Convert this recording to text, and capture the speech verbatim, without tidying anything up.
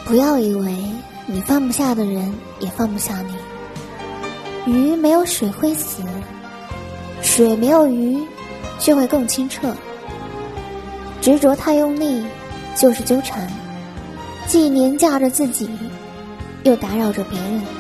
不要以为你放不下的人也放不下你。鱼没有水会死，水没有鱼却会更清澈。执着太用力就是纠缠，既廉价着自己，又打扰着别人。